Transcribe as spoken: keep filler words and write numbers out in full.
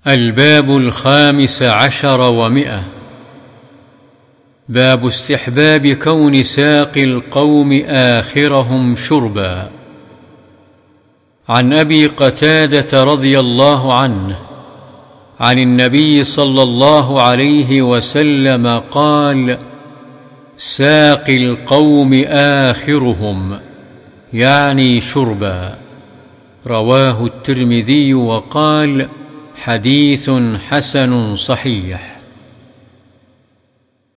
الباب الخامس عشر ومئة. باب استحباب كون ساقي القوم آخرهم شربا. عن أبي قتادة رضي الله عنه عن النبي صلى الله عليه وسلم قال: ساقي القوم آخرهم، يعني شربا. رواه الترمذي وقال: حديث حسن صحيح.